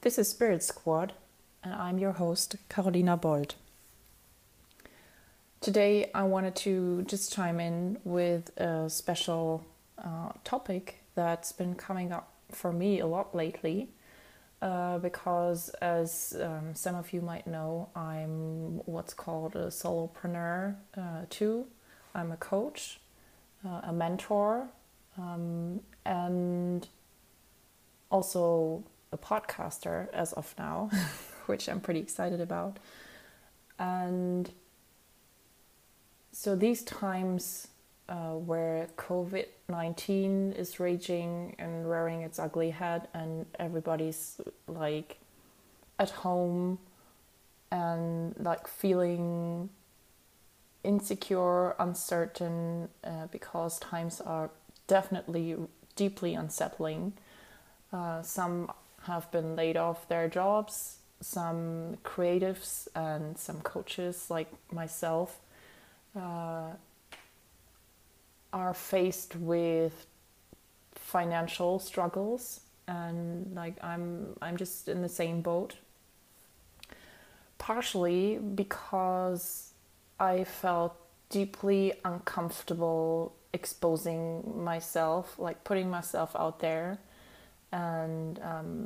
This is Spirit Squad, and I'm your host, Carolina Bold. Today, I wanted to just chime in with a special topic that's been coming up for me a lot lately, because as some of you might know, I'm what's called a solopreneur too. I'm a coach, a mentor, and also a podcaster as of now, which I'm pretty excited about. And so these times where COVID-19 is raging and rearing its ugly head, and everybody's like at home and like feeling insecure, uncertain, because times are definitely deeply unsettling. Some have been laid off their jobs, some creatives and some coaches like myself are faced with financial struggles, and like I'm just in the same boat, partially because I felt deeply uncomfortable exposing myself, like putting myself out there. And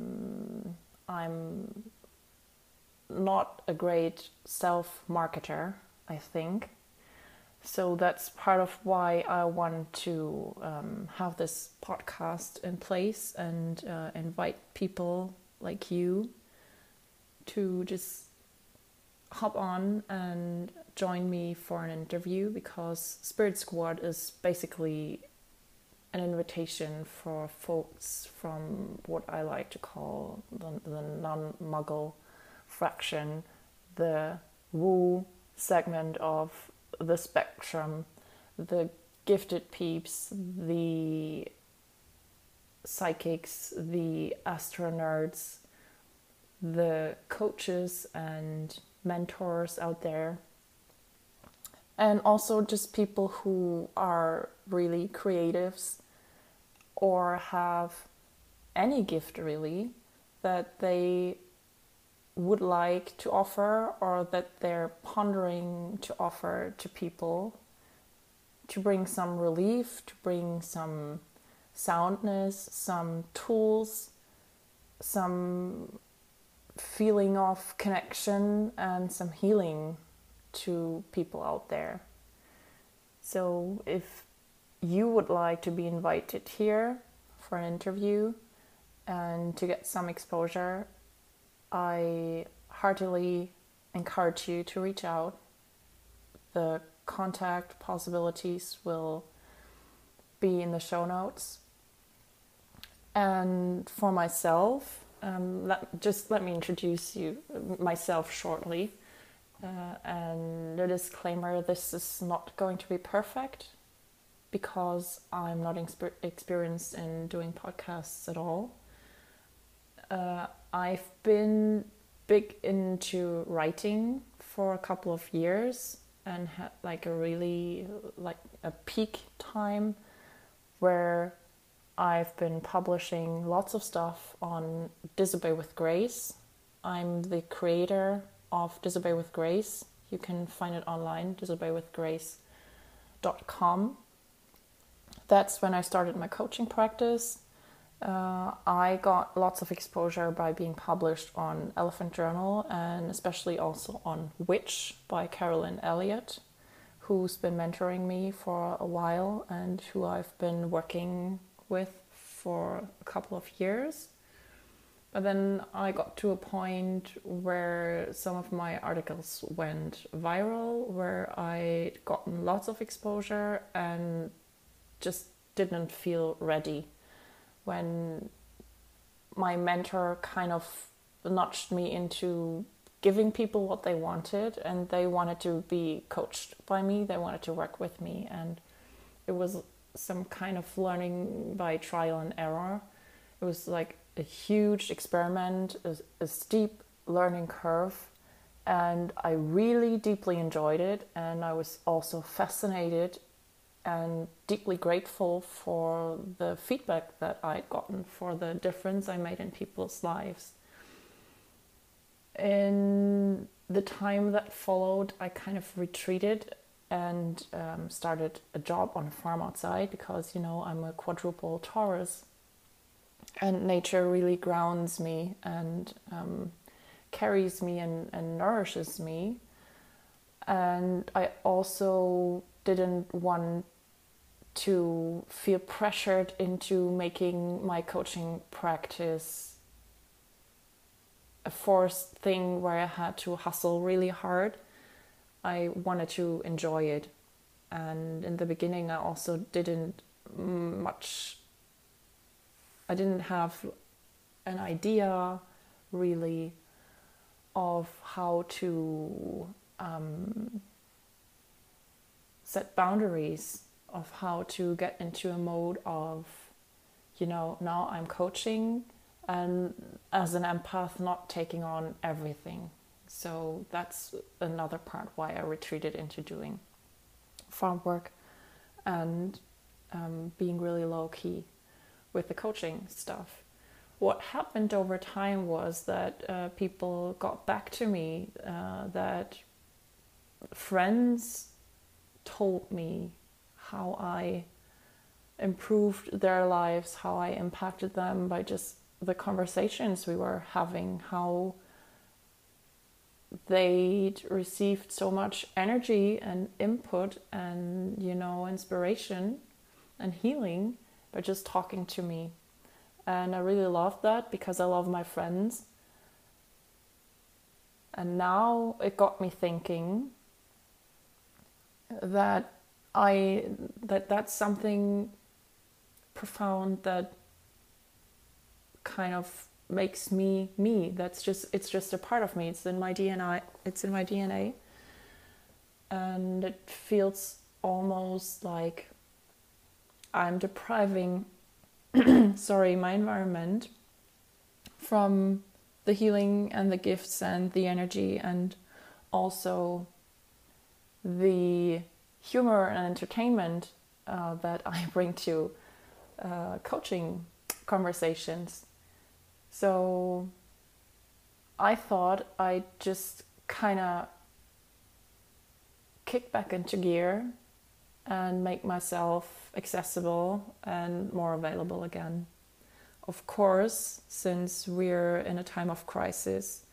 I'm not a great self-marketer, I think. So that's part of why I want to have this podcast in place and invite people like you to just hop on and join me for an interview, because Spirit Squad is basically an invitation for folks from what I like to call the non-Muggle fraction, the woo segment of the spectrum, the gifted peeps, the psychics, the astro nerds, the coaches and mentors out there, and also just people who are really creatives or have any gift really that they would like to offer, or that they're pondering to offer to people, to bring some relief, to bring some soundness, some tools, some feeling of connection and some healing to people out there. So if you would like to be invited here for an interview and to get some exposure, I heartily encourage you to reach out. The contact possibilities will be in the show notes. And for myself, let me introduce myself shortly. And a disclaimer, this is not going to be perfect, because I'm not experienced in doing podcasts at all. I've been big into writing for a couple of years and had like a peak time where I've been publishing lots of stuff on Disobey with Grace. I'm the creator of Disobey with Grace. You can find it online, disobeywithgrace.com. That's when I started my coaching practice. I got lots of exposure by being published on Elephant Journal, and especially also on Witch by Carolyn Elliott, who's been mentoring me for a while and who I've been working with for a couple of years. But then I got to a point where some of my articles went viral, where I'd gotten lots of exposure and just didn't feel ready. When my mentor kind of nudged me into giving people what they wanted, and they wanted to be coached by me, they wanted to work with me, and it was some kind of learning by trial and error. It was like a huge experiment, a steep learning curve, and I really deeply enjoyed it, and I was also fascinated and deeply grateful for the feedback that I'd gotten, for the difference I made in people's lives. In the time that followed, I kind of retreated and started a job on a farm outside because, I'm a quadruple Taurus, and nature really grounds me and carries me and nourishes me. And I also didn't want to feel pressured into making my coaching practice a forced thing where I had to hustle really hard. I wanted to enjoy it. And in the beginning, I also I didn't have an idea really of how to set boundaries, of how to get into a mode of, now I'm coaching, and as an empath, not taking on everything. So that's another part why I retreated into doing farm work and being really low key with the coaching stuff. What happened over time was that people got back to me, that friends told me how I improved their lives, how I impacted them by just the conversations we were having, how they'd received so much energy and input and, inspiration and healing by just talking to me. And I really loved that because I love my friends. And now it got me thinking that that's something profound that kind of makes me me. It's just a part of me. It's in my DNA. And it feels almost like I'm depriving my environment from the healing and the gifts and the energy and also the humor and entertainment that I bring to coaching conversations. So I thought I'd just kind of kick back into gear and make myself accessible and more available again. Of course, since we're in a time of crisis,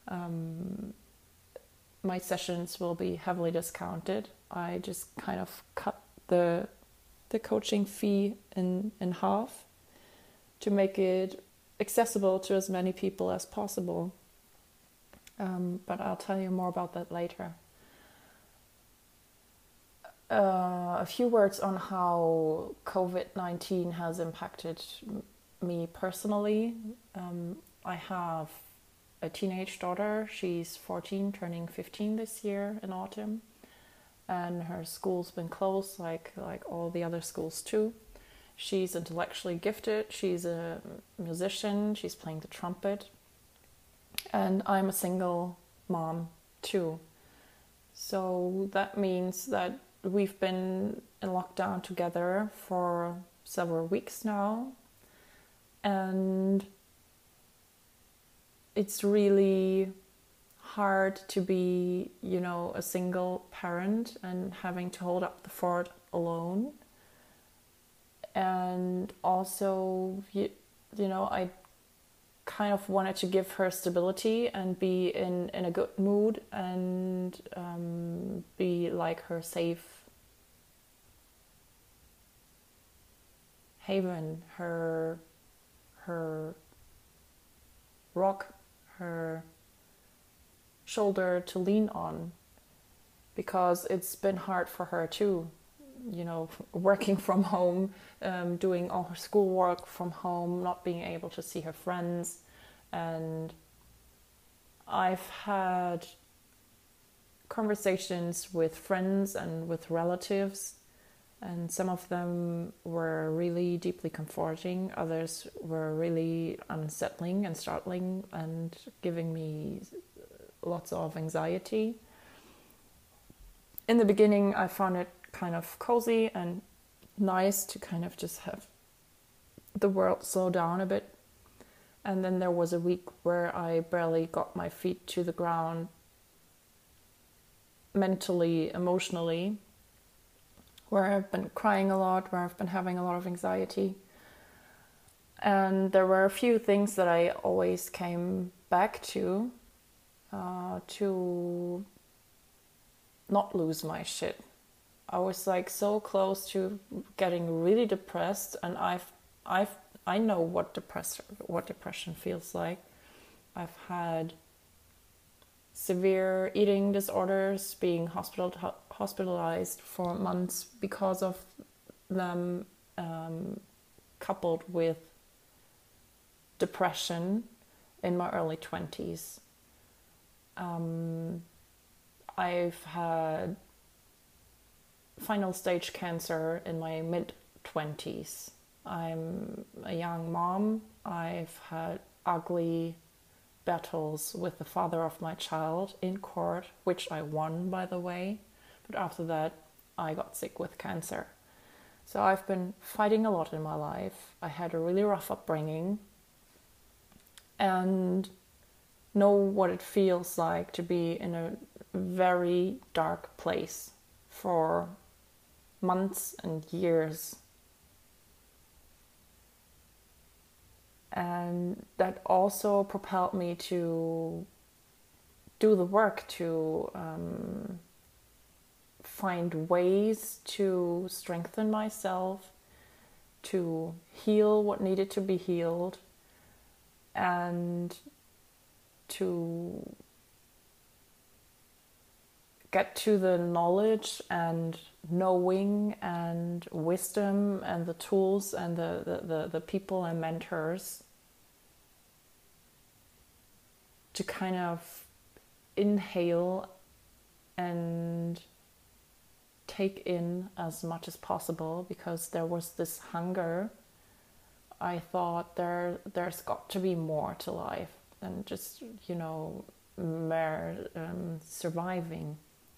my sessions will be heavily discounted. I just kind of cut the coaching fee in half to make it accessible to as many people as possible. But I'll tell you more about that later. A few words on how COVID-19 has impacted me personally. I have a teenage daughter. She's 14, turning 15 this year in autumn. And her school's been closed like all the other schools too. She's intellectually gifted. She's a musician. She's playing the trumpet. And I'm a single mom too. So that means that we've been in lockdown together for several weeks now. And it's really hard to be, a single parent and having to hold up the fort alone. And also, I kind of wanted to give her stability and be in a good mood and be like her safe haven, her rock, her shoulder to lean on, because it's been hard for her too, working from home, doing all her schoolwork from home, not being able to see her friends. And I've had conversations with friends and with relatives, and some of them were really deeply comforting. Others were really unsettling and startling and giving me lots of anxiety. In the beginning, I found it kind of cozy and nice to kind of just have the world slow down a bit. And then there was a week where I barely got my feet to the ground mentally, emotionally, where I've been crying a lot, where I've been having a lot of anxiety. And there were a few things that I always came back to not lose my shit. I was like so close to getting really depressed, and I know what depression feels like. I've had severe eating disorders, being hospitalized for months because of them, coupled with depression in my early 20s. I've had final stage cancer in my mid 20s. I'm a young mom. I've had ugly battles with the father of my child in court, which I won, by the way. But after that, I got sick with cancer. So I've been fighting a lot in my life. I had a really rough upbringing and know what it feels like to be in a very dark place for months and years. And that also propelled me to do the work to find ways to strengthen myself, to heal what needed to be healed, and to get to the knowledge and knowing and wisdom and the tools and the people and mentors to kind of inhale and take in as much as possible, because there was this hunger. I thought there's got to be more to life than just, mere surviving.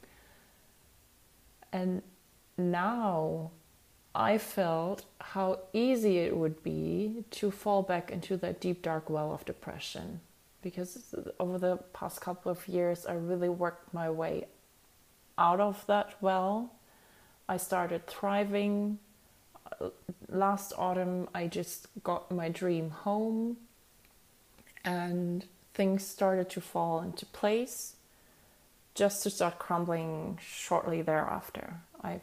And now I felt how easy it would be to fall back into that deep, dark well of depression. Because over the past couple of years, I really worked my way out of that well. I started thriving. Last autumn, I just got my dream home. And things started to fall into place, just to start crumbling shortly thereafter. I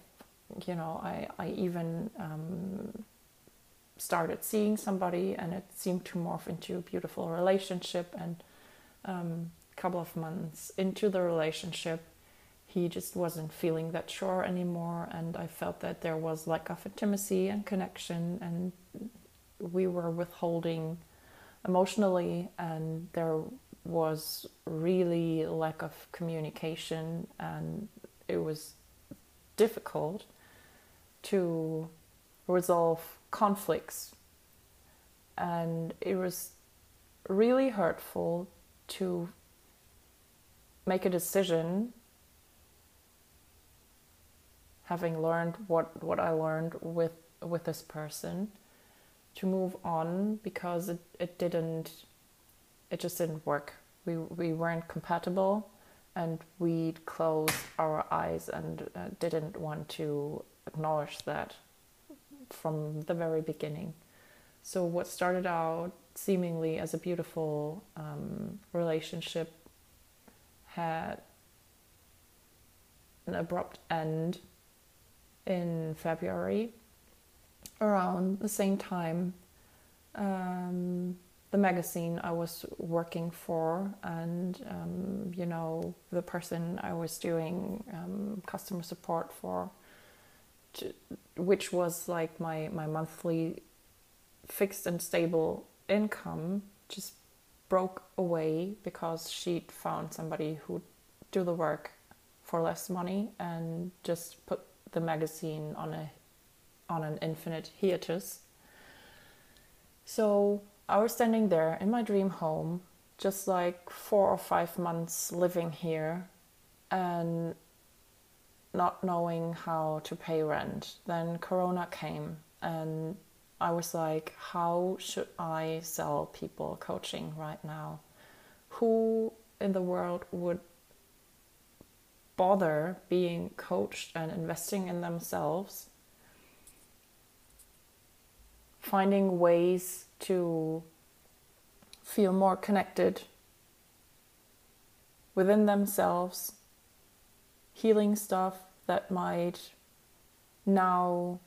even started seeing somebody, and it seemed to morph into a beautiful relationship. And a couple of months into the relationship, he just wasn't feeling that sure anymore, and I felt that there was lack of intimacy and connection, and we were withholding emotionally, and there was really lack of communication, and it was difficult to resolve conflicts, and it was really hurtful to make a decision, having learned what I learned with this person, to move on, because it just didn't work. We weren't compatible, and we'd closed our eyes and didn't want to acknowledge that from the very beginning. So what started out seemingly as a beautiful relationship had an abrupt end in February, around the same time. The magazine I was working for, and the person I was doing customer support for, which was like my monthly fixed and stable income, just broke away because she'd found somebody who'd do the work for less money and just put the magazine on an infinite hiatus. So I was standing there in my dream home, just like 4 or 5 months living here, and not knowing how to pay rent. Then Corona came, and I was like, how should I sell people coaching right now? Who in the world would bother being coached and investing in themselves, finding ways to feel more connected within themselves, healing stuff that might now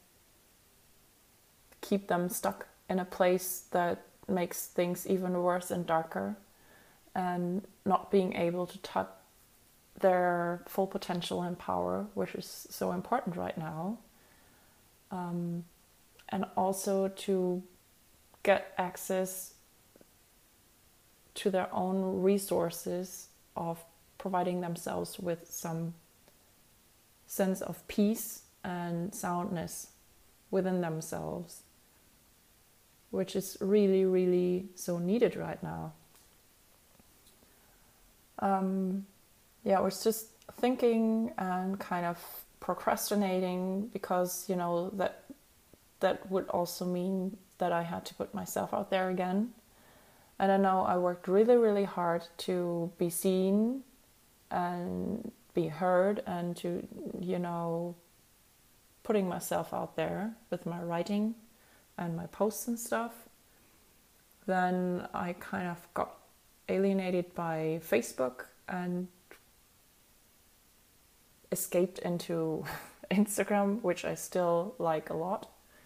keep them stuck in a place that makes things even worse and darker, and not being able to tap their full potential and power, which is so important right now. And also to get access to their own resources of providing themselves with some sense of peace and soundness within themselves, which is really, really so needed right now. I was just thinking and kind of procrastinating because, that would also mean that I had to put myself out there again. And I know I worked really, really hard to be seen and be heard and to, putting myself out there with my writing and my posts and stuff. Then I kind of got alienated by Facebook and escaped into Instagram, which I still like a lot.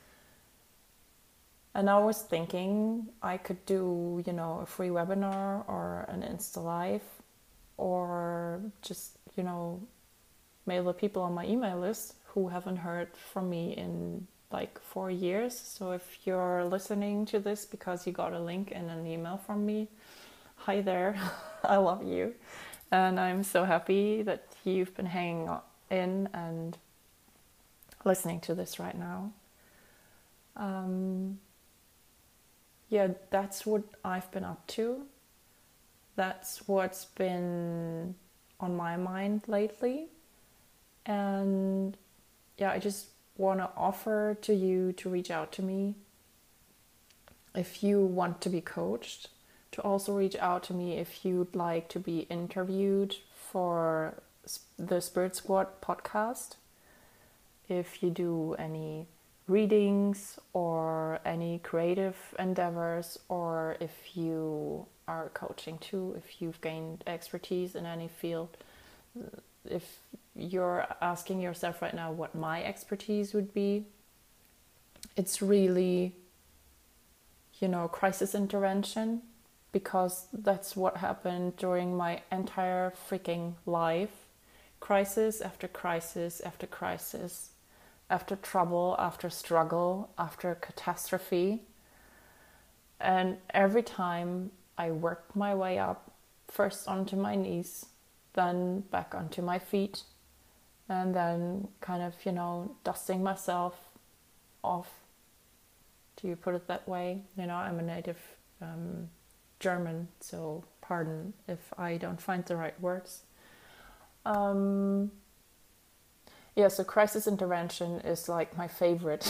And I was thinking I could do, a free webinar or an Insta Live, or just, mail the people on my email list who haven't heard from me in like 4 years. So if you're listening to this because you got a link in an email from me, hi there, I love you. And I'm so happy that you've been hanging in and listening to this right now. That's what I've been up to. That's what's been on my mind lately. And I just want to offer to you to reach out to me if you want to be coached, to also reach out to me if you'd like to be interviewed for the Spirit Squad podcast. If you do any readings or any creative endeavors, or if you are coaching too, if you've gained expertise in any field. If you're asking yourself right now what my expertise would be, it's really, crisis intervention, because that's what happened during my entire freaking life. Crisis after crisis after crisis, after trouble, after struggle, after catastrophe. And every time I worked my way up, first onto my knees, then back onto my feet, and then kind of, dusting myself off. Do you put it that way? I'm a native German, so pardon if I don't find the right words. So crisis intervention is like my favorite.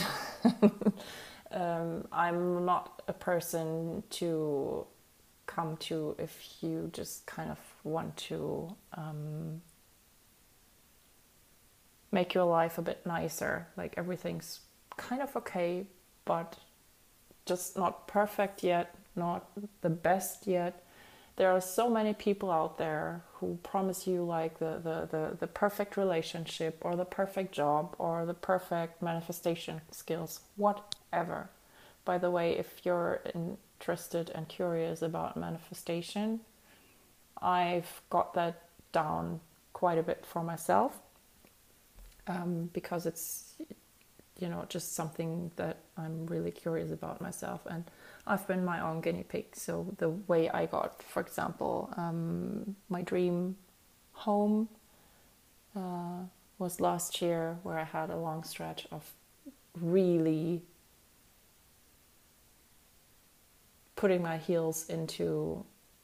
I'm not a person to come to if you just kind of want to make your life a bit nicer. Like everything's kind of okay, but just not perfect yet, not the best yet. There are so many people out there who promise you like the perfect relationship or the perfect job or the perfect manifestation skills, whatever. By the way, if you're interested and curious about manifestation, I've got that down quite a bit for myself, because it's, just something that I'm really curious about myself, and I've been my own guinea pig. So the way I got, for example, my dream home was last year, where I had a long stretch of really putting my heels into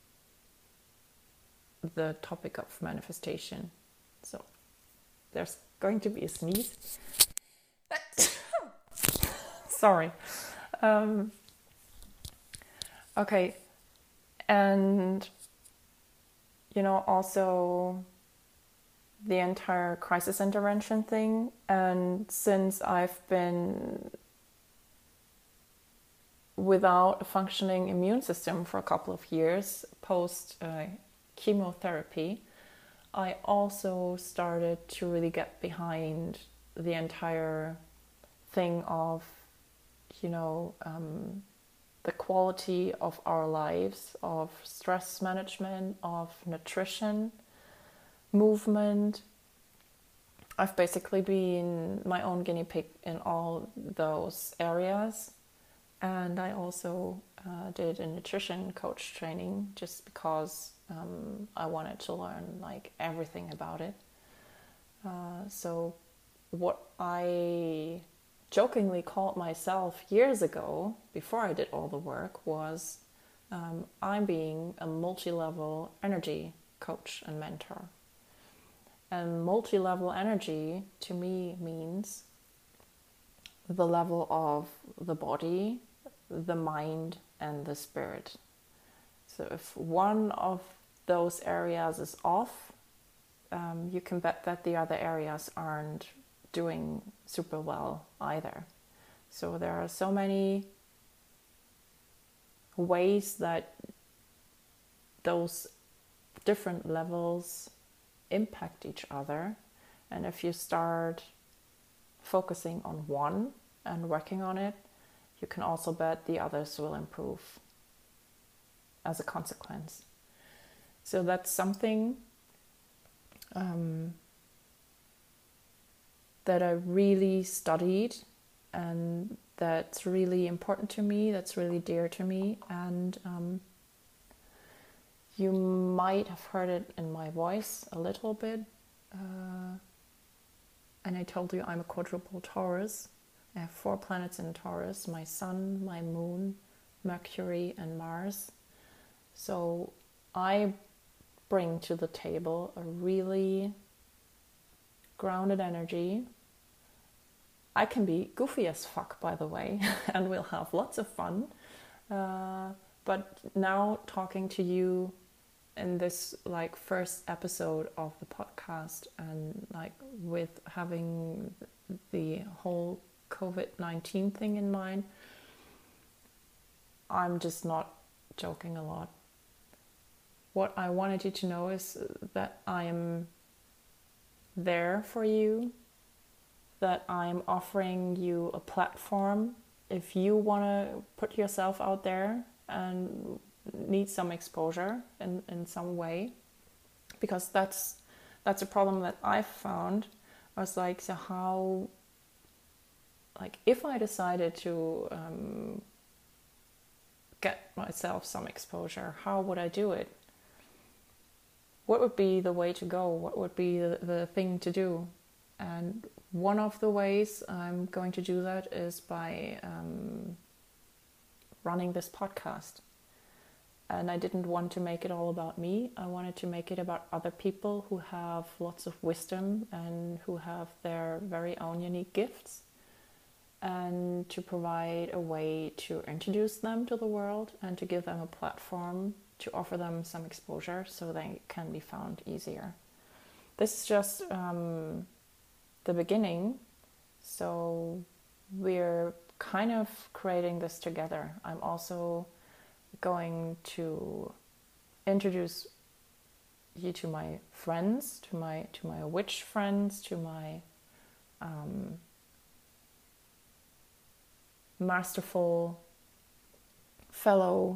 the topic of manifestation. So there's going to be a sneeze. Sorry. Um, okay, and also the entire crisis intervention thing. And since I've been without a functioning immune system for a couple of years post chemotherapy, I also started to really get behind the entire thing of, the quality of our lives, of stress management, of nutrition, movement. I've basically been my own guinea pig in all those areas. And I also did a nutrition coach training just because I wanted to learn like everything about it. So what I jokingly called myself years ago, before I did all the work, was I'm being a multi-level energy coach and mentor. And multi-level energy to me means the level of the body, the mind, and the spirit. So if one of those areas is off, you can bet that the other areas aren't doing super well either. So there are so many ways that those different levels impact each other. And if you start focusing on one and working on it, you can also bet the others will improve as a consequence. So that's something that I really studied, and that's really important to me, that's really dear to me. And you might have heard it in my voice a little bit. And I told you I'm a quadruple Taurus. I have 4 planets in Taurus: my Sun, my Moon, Mercury, and Mars. So I bring to the table a really grounded energy. I can be goofy as fuck, by the way, and we'll have lots of fun. But now talking to you in this like first episode of the podcast, and like with having the whole COVID-19 thing in mind, I'm just not joking a lot. What I wanted you to know is that I am there for you, that I'm offering you a platform if you want to put yourself out there and need some exposure in some way, because that's a problem that I've found. I was like, so how, like if I decided to get myself some exposure, how would I do it? What would be the way to go? What would be the thing to do? And one of the ways I'm going to do that is by running this podcast. And I didn't want to make it all about me. I wanted to make it about other people who have lots of wisdom and who have their very own unique gifts, and to provide a way to introduce them to the world and to give them a platform, to offer them some exposure so they can be found easier. This is just the beginning, so we're kind of creating this together. I'm also going to introduce you to my friends, to my witch friends, to my masterful fellow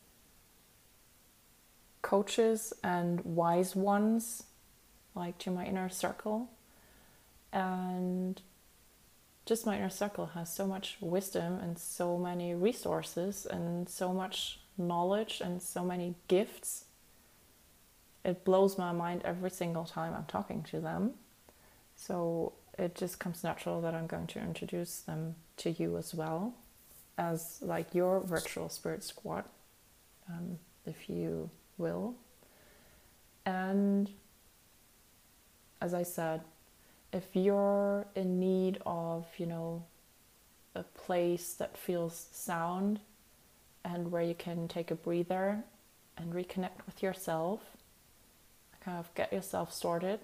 coaches and wise ones, like to my inner circle. And just my inner circle has so much wisdom and so many resources and so much knowledge and so many gifts. It blows my mind every single time I'm talking to them. So it just comes natural that I'm going to introduce them to you as well, as like your virtual spirit squad, if you will. And as I said, if you're in need of, a place that feels sound and where you can take a breather and reconnect with yourself, kind of get yourself sorted,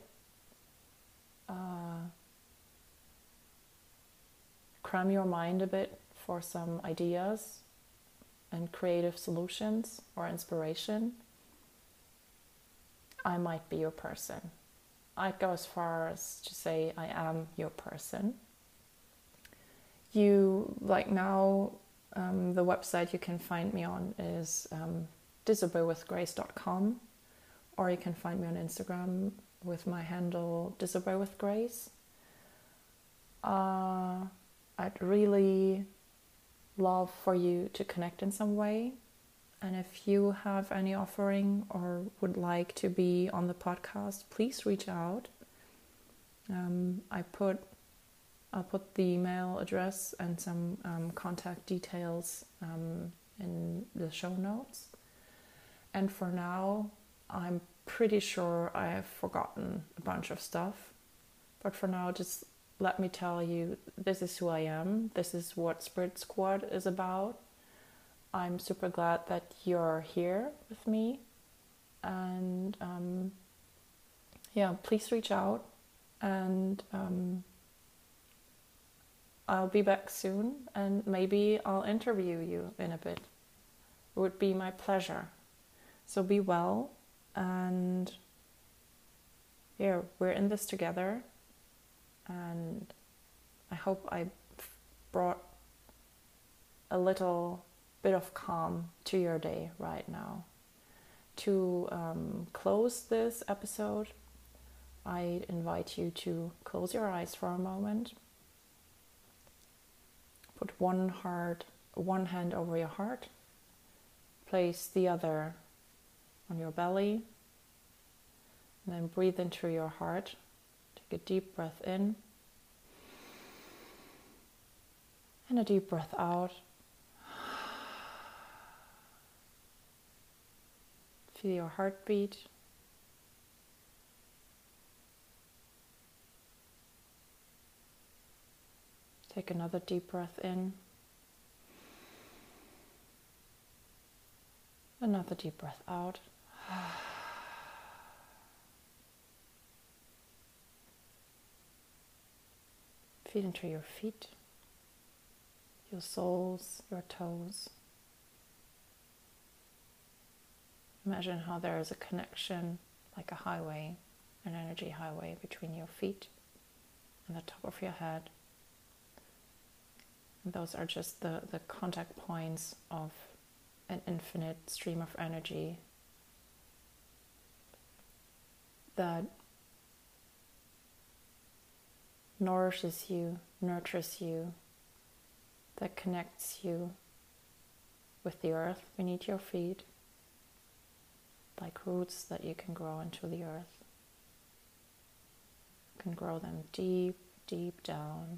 cram your mind a bit for some ideas and creative solutions or inspiration, I might be your person. I'd go as far as to say I am your person. You, like now, the website you can find me on is disobeywithgrace.com, or you can find me on Instagram with my handle disobeywithgrace. I'd really love for you to connect in some way. And if you have any offering or would like to be on the podcast, please reach out. I'll put the email address and some contact details in the show notes. And for now, I'm pretty sure I have forgotten a bunch of stuff. But for now, just let me tell you, this is who I am. This is what Spirit Squad is about. I'm super glad that you're here with me. And please reach out. And I'll be back soon. And maybe I'll interview you in a bit. It would be my pleasure. So be well. And yeah, we're in this together. And I hope I brought a little bit of calm to your day right now. To close this episode, I invite you to close your eyes for a moment. Put one hand over your heart. Place the other on your belly. And then breathe into your heart. Take a deep breath in. And a deep breath out. Feel your heartbeat. Take another deep breath in. Another deep breath out. Feel into your feet, your soles, your toes. Imagine how there is a connection, like a highway, an energy highway between your feet and the top of your head. And those are just the contact points of an infinite stream of energy that nourishes you, nurtures you, that connects you with the earth beneath your feet, like roots that you can grow into the earth. You can grow them deep, deep down.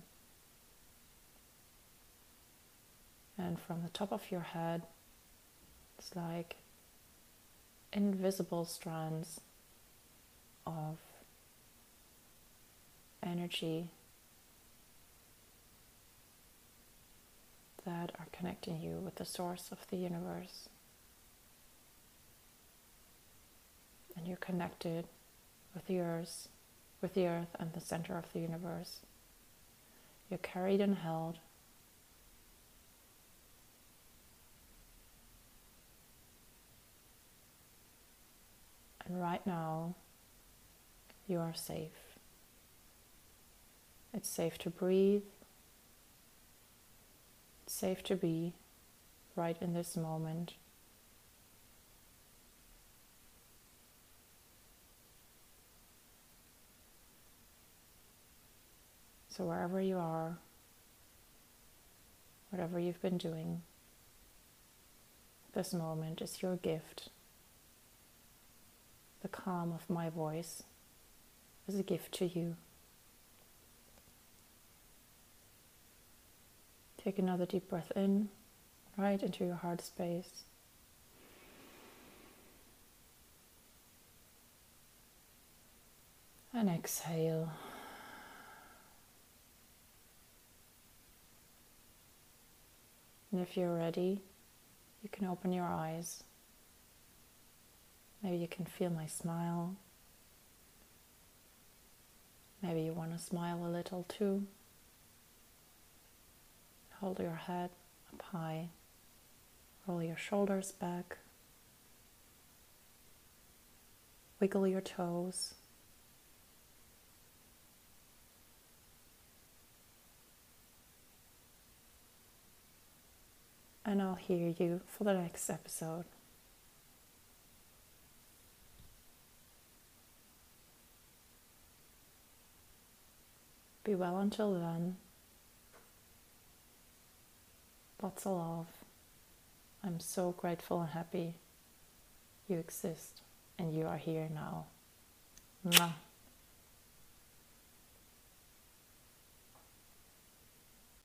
And from the top of your head, it's like invisible strands of energy that are connecting you with the source of the universe. And you're connected with the earth and the center of the universe. You're carried and held. And right now, you are safe. It's safe to breathe. It's safe to be right in this moment. So wherever you are, whatever you've been doing, this moment is your gift. The calm of my voice is a gift to you. Take another deep breath in, right into your heart space. And exhale. And if you're ready, you can open your eyes. Maybe you can feel my smile. Maybe you want to smile a little too. Hold your head up high. Roll your shoulders back. Wiggle your toes. And I'll hear you for the next episode. Be well until then. Lots of love. I'm so grateful and happy you exist and you are here now. Mwah.